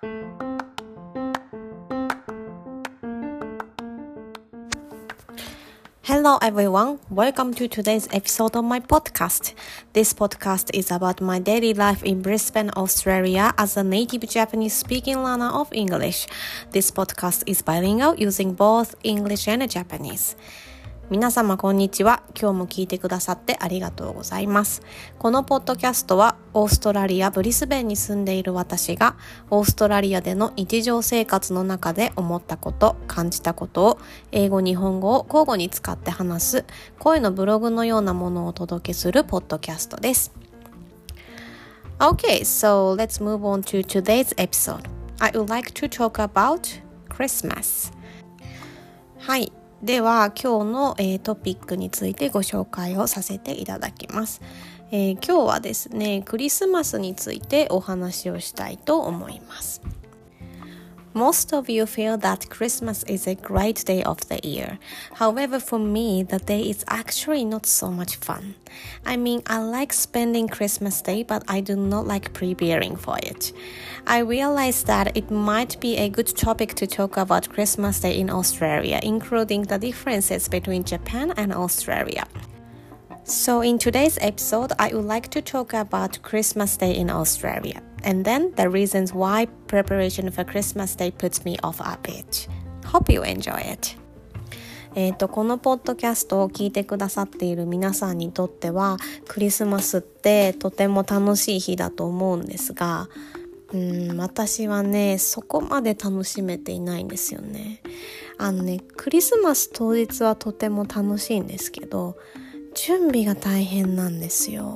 Hello everyone, welcome to today's episode of my podcast. This podcast is about my daily life in Brisbane, Australia as a native Japanese speaking learner of English. This podcast is bilingual using both English and Japanese.皆様こんにちは。今日も聞いてくださってありがとうございます。このポッドキャストはオーストラリア・ブリスベンに住んでいる私がオーストラリアでの日常生活の中で思ったこと、感じたことを英語・日本語を交互に使って話す声のブログのようなものをお届けするポッドキャストです。Okay, so let's move on to today's episode. I would like to talk about Christmas. はい。では今日の、トピックについてご紹介をさせていただきます。今日はですね、クリスマスについてお話をしたいと思います。Most of you feel that Christmas is a great day of the year. However, for me, the day is actually not so much fun. I mean, I like spending Christmas Day, but I do not like preparing for it. I realized that it might be a good topic to talk about Christmas Day in Australia, including the differences between Japan and Australia.So in today's episode, I would like to talk about Christmas Day in Australia, and then the reasons why preparation for Christmas Day puts me off a bit. Hope you enjoy it. このポッドキャストを聞いてくださっている皆さんにとっては、クリスマスってとても楽しい日だと思うんですが、私はね、そこまで楽しめていないんですよね。クリスマス当日はとても楽しいんですけど、準備が大変なんですよ。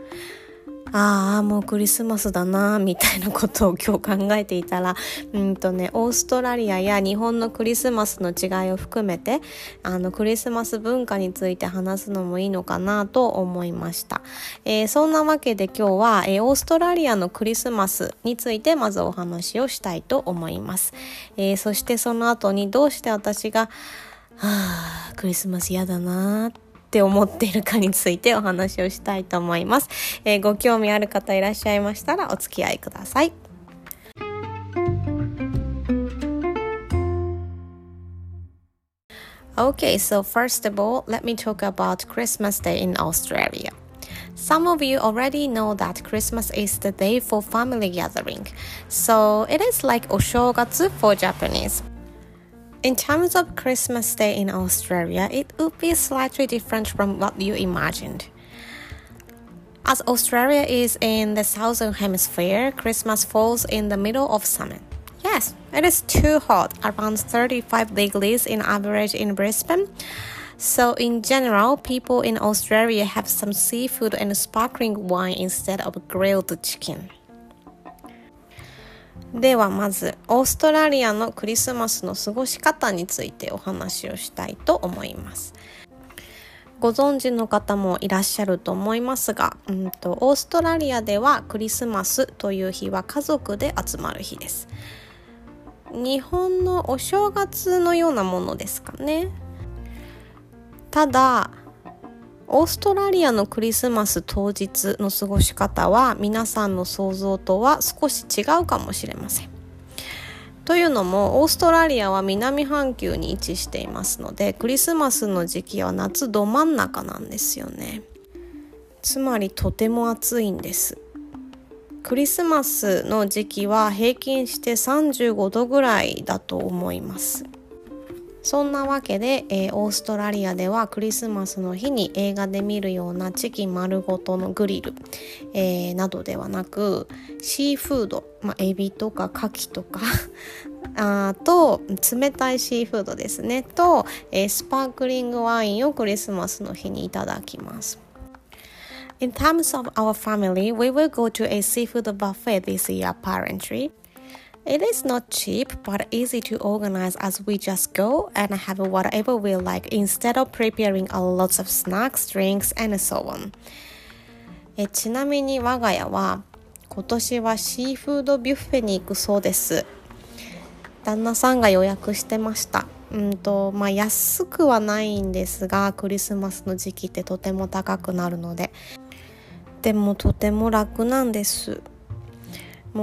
もうクリスマスだなみたいなことを今日考えていたら、オーストラリアや日本のクリスマスの違いを含めて、クリスマス文化について話すのもいいのかなと思いました。そんなわけで今日は、オーストラリアのクリスマスについてまずお話をしたいと思います。そしてその後にどうして私が、クリスマス嫌だなって思っているかについてお話をしたいと思います。ご興味ある方いらっしゃいましたらお付き合いください。Okay, so first of all, let me talk about Christmas Day in Australia. Some of you already know that Christmas is the day for family gathering. So it is like お正月 for Japanese.In terms of Christmas Day in Australia, it would be slightly different from what you imagined. As Australia is in the southern hemisphere, Christmas falls in the middle of summer. Yes, it is too hot, around 35 degrees in average in Brisbane. So in general, people in Australia have some seafood and sparkling wine instead of grilled chicken.ではまずオーストラリアのクリスマスの過ごし方についてお話をしたいと思います。ご存知の方もいらっしゃると思いますが、オーストラリアではクリスマスという日は家族で集まる日です。日本のお正月のようなものですかね。ただオーストラリアのクリスマス当日の過ごし方は皆さんの想像とは少し違うかもしれません。というのもオーストラリアは南半球に位置していますので、クリスマスの時期は夏ど真ん中なんですよね。つまりとても暑いんです。クリスマスの時期は平均して35度ぐらいだと思います。そんなわけで、オーストラリアではクリスマスの日に映画で見るようなチキン丸ごとのグリル、などではなくシーフード、エビとかカキとかと冷たいシーフードですねと、スパークリングワインをクリスマスの日にいただきます。In terms of our family, we will go to a seafood buffet this year apparently.It is not cheap, but easy to organize as we just go and have whatever we like instead of preparing a lot of snacks, drinks, and so on. ちなみに我が家は今年はシーフードビュッフェに行くそうです。旦那さんが予約してました。安くはないんですが、クリスマスの時期ってとても高くなるので、でもとても楽なんです。もう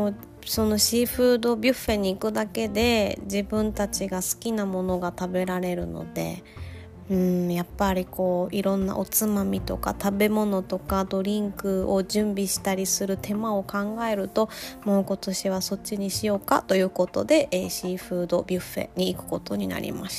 そのシーフードビュッフェに行くだけで自分たちが好きなものが食べられるので、やっぱりいろんなおつまみとか食べ物とかドリンクを準備したりする手間を考えると、もう今年はそっちにしようかということで、シーフードビュッフェに行くことになりました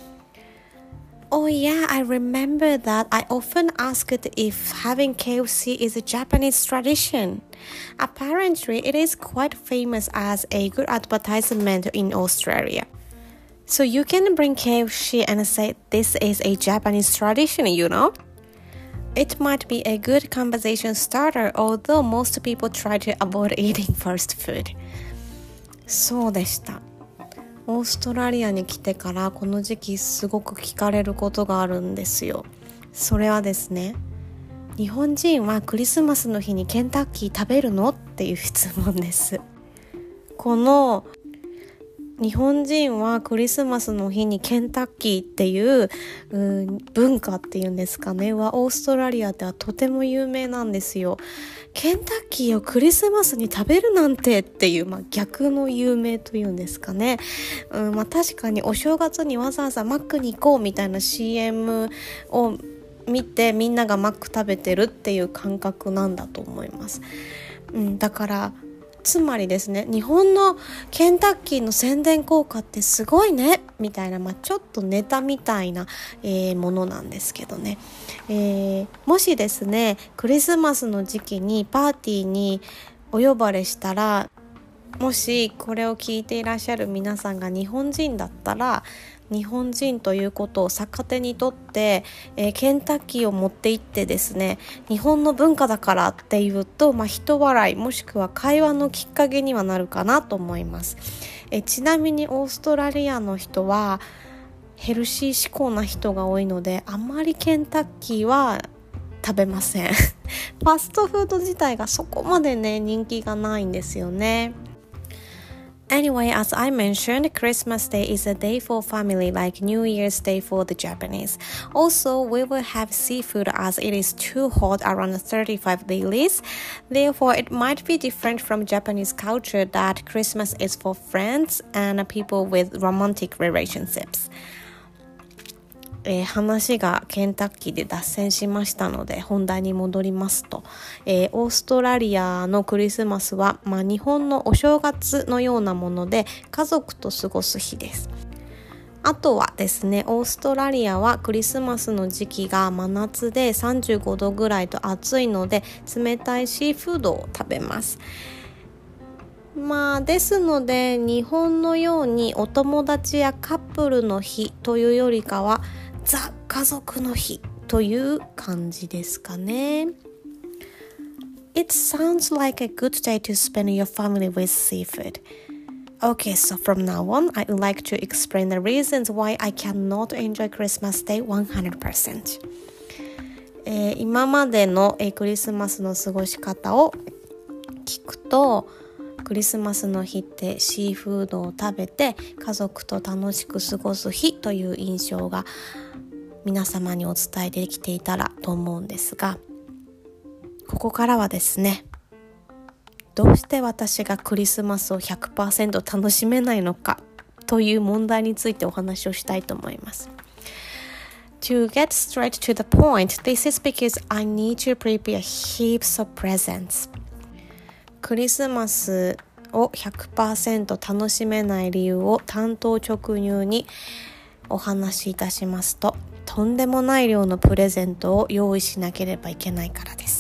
。Oh yeah, I remember that I often asked if having KFC is a Japanese tradition. Apparently, it is quite famous as a good advertisement in Australia. So you can bring KFC and say this is a Japanese tradition, you know? It might be a good conversation starter, although most people try to avoid eating fast food. そうでした。オーストラリアに来てからこの時期すごく聞かれることがあるんですよ。それはですね、日本人はクリスマスの日にケンタッキー食べるのっていう質問です。この日本人はクリスマスの日にケンタッキーっていう文化っていうんですかねはオーストラリアではとても有名なんですよ。ケンタッキーをクリスマスに食べるなんてっていう、逆の有名というんですかね。確かにお正月にわざわざマックに行こうみたいな CM を見てみんながマック食べてるっていう感覚なんだと思います。だからつまりですね、日本のケンタッキーの宣伝効果ってすごいねみたいな、ちょっとネタみたいな、ものなんですけどね、もしですねクリスマスの時期にパーティーにお呼ばれしたら、もしこれを聞いていらっしゃる皆さんが日本人だったら、日本人ということを逆手にとって、ケンタッキーを持って行ってですね、日本の文化だからっていうと、人笑いもしくは会話のきっかけにはなるかなと思います。ちなみにオーストラリアの人はヘルシー志向な人が多いので、あまりケンタッキーは食べません。ファストフード自体がそこまでね人気がないんですよね。Anyway, as I mentioned, Christmas Day is a day for family like New Year's Day for the Japanese. Also, we will have seafood as it is too hot around 35 degrees. Therefore, it might be different from Japanese culture that Christmas is for friends and people with romantic relationships.話がケンタッキーで脱線しましたので本題に戻りますと、オーストラリアのクリスマスは、日本のお正月のようなもので家族と過ごす日です。あとはですね、オーストラリアはクリスマスの時期が真夏で35度ぐらいと暑いので冷たいシーフードを食べます。ですので日本のようにお友達やカップルの日というよりかはザ・家族の日という感じですかね。It sounds like a good day to spend your family with seafood. Okay, so from now on, I would like to explain the reasons why I cannot enjoy Christmas Day 100%. 今までのクリスマスの過ごし方を聞くと、クリスマスの日ってシーフードを食べて家族と楽しく過ごす日という印象が皆様にお伝えできていたらと思うんですが、ここからはですね、どうして私がクリスマスを 100% 楽しめないのかという問題についてお話をしたいと思います。To get straight to the point, this is because I need to prepare heaps of presents.クリスマスを 100% 楽しめない理由を単刀直入にお話しいたしますと、とんでもない量のプレゼントを用意しなければいけないからです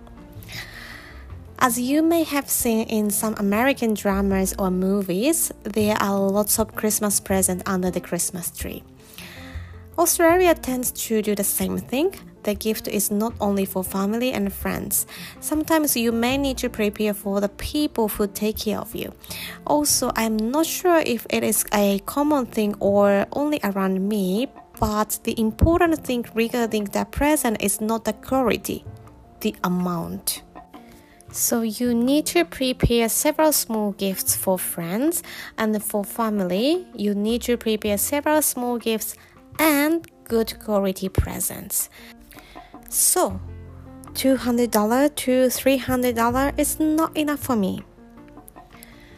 。As you may have seen in some American dramas or movies, there are lots of Christmas presents under the Christmas tree. Australia tends to do the same thing.The gift is not only for family and friends. Sometimes you may need to prepare for the people who take care of you. Also, I'm not sure if it is a common thing or only around me, but the important thing regarding the present is not the quality, the amount. So you need to prepare several small gifts for friends, and for family, you need to prepare several small gifts and good quality presents.So, $200 to $300 is not enough for me.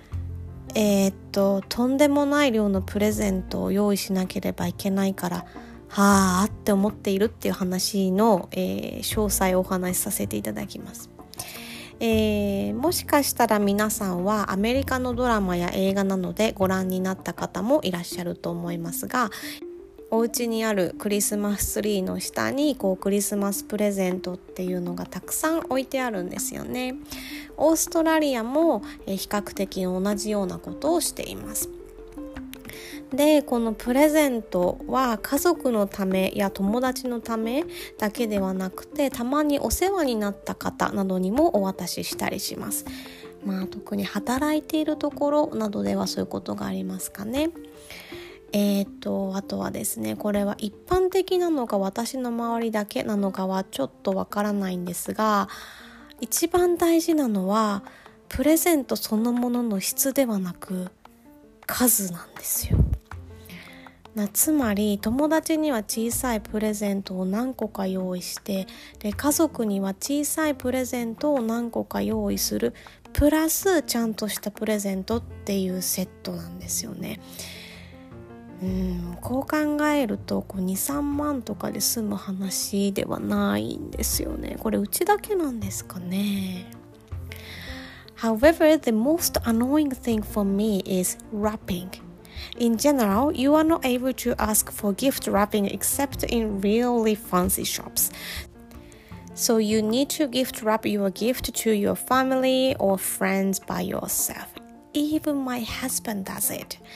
とんでもない量のプレゼントを用意しなければいけないからはあって思っているっていう話の、詳細をお話しさせていただきます。もしかしたら皆さんはアメリカのドラマや映画などでご覧になった方もいらっしゃると思いますが、お家にあるクリスマスツリーの下にクリスマスプレゼントっていうのがたくさん置いてあるんですよね。オーストラリアも比較的同じようなことをしています。で、このプレゼントは家族のためや友達のためだけではなくて、たまにお世話になった方などにもお渡ししたりします。特に働いているところなどではそういうことがありますかね。あとはですね、これは一般的なのか私の周りだけなのかはちょっとわからないんですが、一番大事なのはプレゼントそのものの質ではなく数なんですよ。つまり友達には小さいプレゼントを何個か用意して、で家族には小さいプレゼントを何個か用意するプラスちゃんとしたプレゼントっていうセットなんですよね。こう考えると2、3万とかで済む話ではないんですよね。これうちだけなんですかね。However, the most annoying thing for me is wrapping. In general, you are not able to ask for gift wrapping except in really fancy shops. So you need to gift wrap your gift to your family or friends by yourself. Even my husband does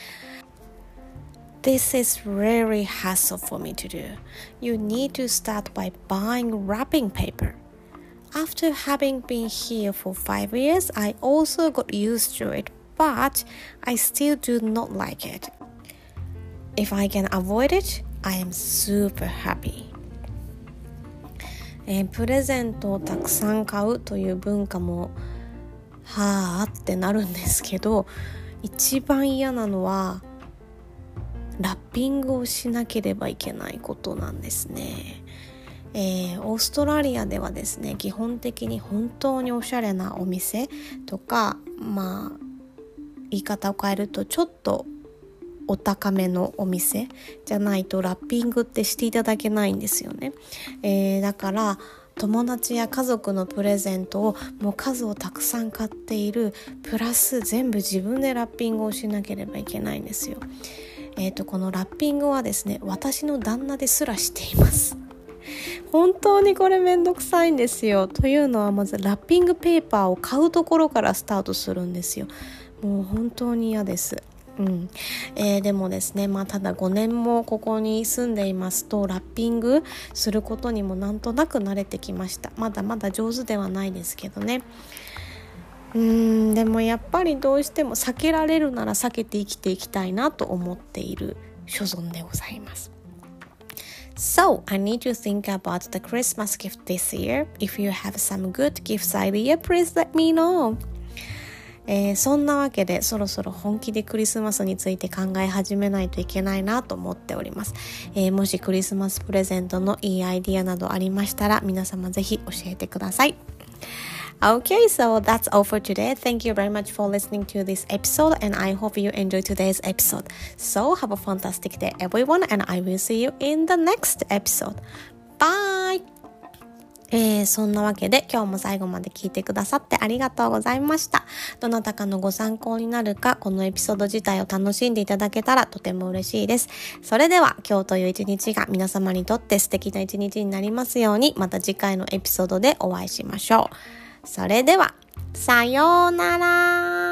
it.This is really hassle for me to do. You need to start by buying wrapping paper. After having been here for 5 years, I also got used to it, but I still do not like it. If I can avoid it, I am super happy. プレゼントをたくさん買うという文化もはぁってなるんですけど、一番嫌なのはラッピングをしなければいけないことなんですね。オーストラリアではですね、基本的に本当におしゃれなお店とか、言い方を変えるとちょっとお高めのお店じゃないとラッピングってしていただけないんですよね。だから友達や家族のプレゼントをもう数をたくさん買っているプラス全部自分でラッピングをしなければいけないんですよ。このラッピングはですね、私の旦那ですらしています。本当にこれめんどくさいんですよ。というのはまずラッピングペーパーを買うところからスタートするんですよ。もう本当に嫌です。でもですね、ただ5年もここに住んでいますとラッピングすることにもなんとなく慣れてきました。まだまだ上手ではないですけどね。でもやっぱりどうしても避けられるなら避けて生きていきたいなと思っている所存でございます。So, I need to think about the Christmas gift this year. If you have some good gifts idea, please let me know. そんなわけでそろそろ本気でクリスマスについて考え始めないといけないなと思っております。もしクリスマスプレゼントのいいアイディアなどありましたら皆様ぜひ教えてください。Okay, so that's all for today. Thank you very much for listening to this episode and I hope you enjoyed today's episode. So have a fantastic day everyone and I will see you in the next episode. Bye! そんなわけで今日も最後まで聞いてくださってありがとうございました。どなたかのご参考になるか、このエピソード自体を楽しんでいただけたらとても嬉しいです。それでは今日という一日が皆様にとって素敵な一日になりますように、また次回のエピソードでお会いしましょう。それでは、さようなら。